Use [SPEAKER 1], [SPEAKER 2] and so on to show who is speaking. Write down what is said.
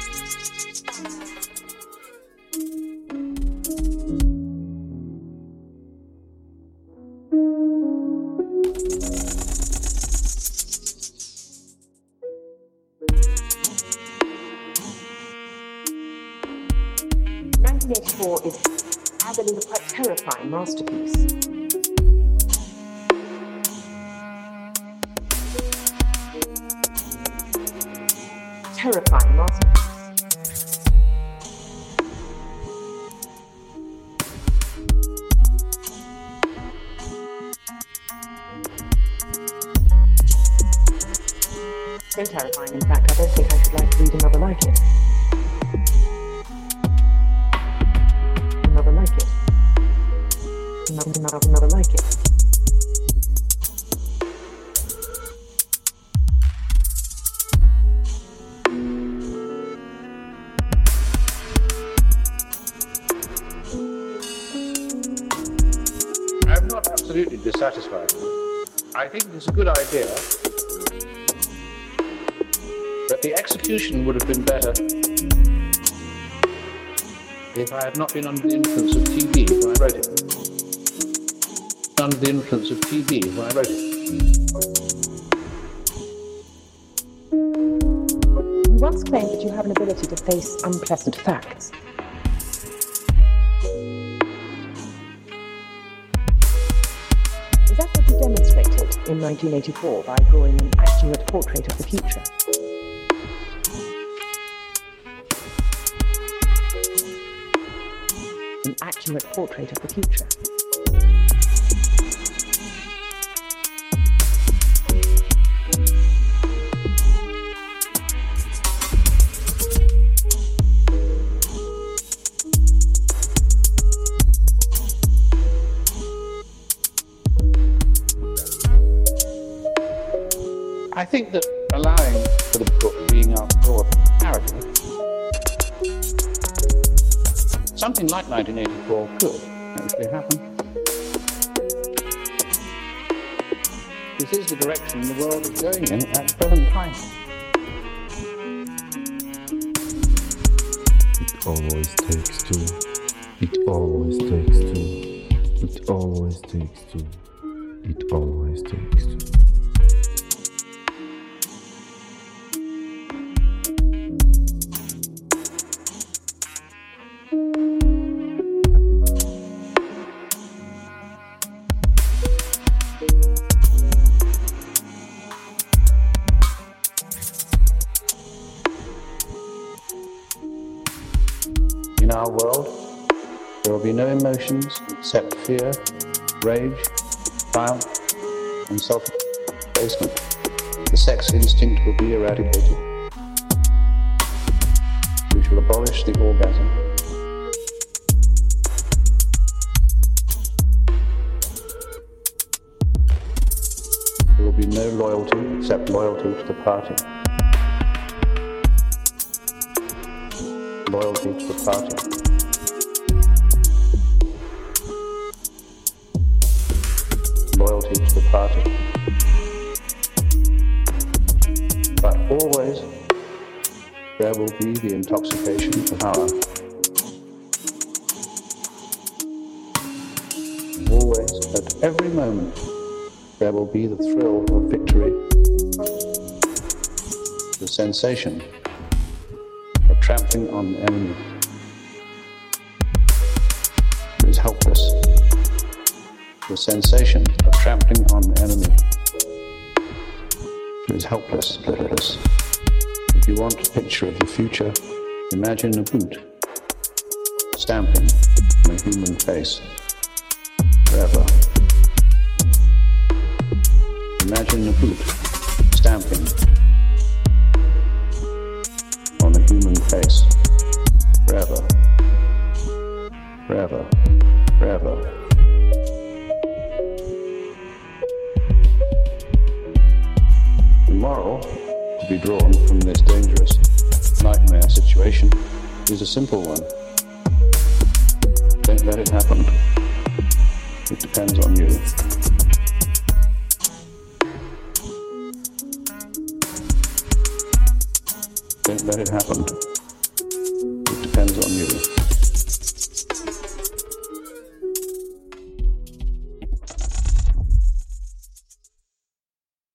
[SPEAKER 1] Is, I believe, a quite terrifying masterpiece. Terrifying masterpiece. So terrifying, in fact, I don't think I should like to read another like it. Another like it. Another like it.
[SPEAKER 2] I'm not absolutely dissatisfied. I think it's a good idea, but the execution would have been better if I had not been under the influence of TV when I wrote it. Under the influence of TV when I wrote it.
[SPEAKER 1] You once claimed that you have an ability to face unpleasant facts. Is that what you demonstrated in 1984 by drawing an accurate portrait of the future? An accurate portrait of the future.
[SPEAKER 2] I think that allowing for the book being outdoor parody, something like 1984 could actually happen. This is the direction the world is going in at the present time.
[SPEAKER 3] It always takes two. It always takes two. It always takes two. It always takes two.
[SPEAKER 2] In our world, there will be no emotions except fear, rage, triumph, and self-abasement. The sex instinct will be eradicated. We shall abolish the orgasm. There will be no loyalty except loyalty to the party. Loyalty to the party. Loyalty to the party. But always there will be the intoxication of power. Always, at every moment, there will be the thrill of victory, the sensation of trampling on the enemy who is helpless, the sensation of trampling on the enemy who is helpless. If you want a picture of the future, imagine a boot stamping on a human face forever. Imagine a boot stamping on a human face forever, forever, forever. The moral to be drawn from this dangerous nightmare situation is a simple one. Don't let it happen. It depends on you. Don't let it happen. on you.